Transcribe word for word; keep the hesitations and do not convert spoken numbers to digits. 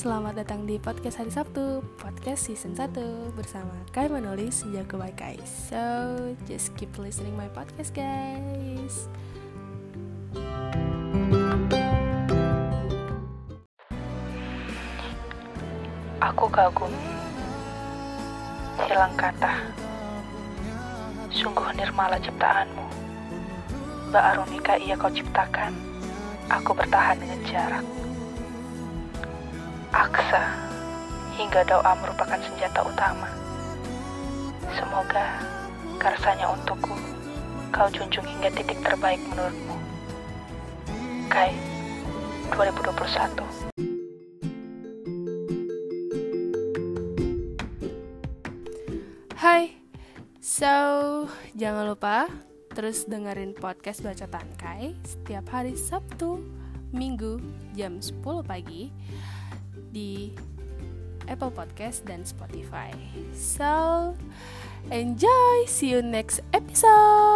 selamat datang di podcast hari Sabtu, podcast season satu bersama Kai Manolis, Jago by Kai. So, just keep listening my podcast, guys. Aku kagum, hilang kata. Sungguh nirmala ciptaanmu. Mbak Arumika ia kau ciptakan, aku bertahan dengan jarak. Aksa, hingga doa merupakan senjata utama. Semoga karsanya untukku kau junjung hingga titik terbaik menurutmu. Kai, dua ribu dua puluh satu. Hai, so jangan lupa terus dengerin podcast Bacotan Kai setiap hari Sabtu, Minggu jam sepuluh pagi di Apple Podcast dan Spotify. So, enjoy, see you next episode.